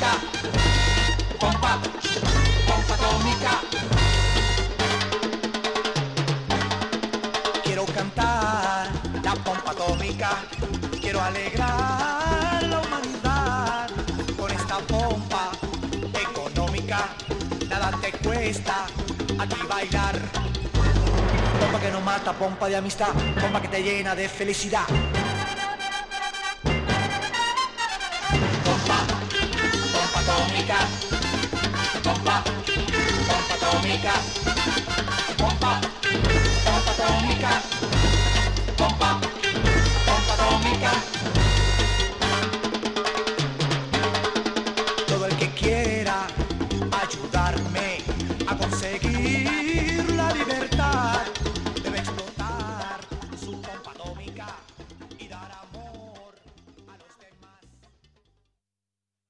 atómica, pompa, pompa atómica. Quiero cantar la pompa atómica, quiero alegrar la humanidad con esta pompa económica. Nada te cuesta aquí bailar. Pompa que no mata, pompa de amistad, pompa que te llena de felicidad. Pompa, pompa atómica, pompa, pompa atómica, pompa, pompa atómica.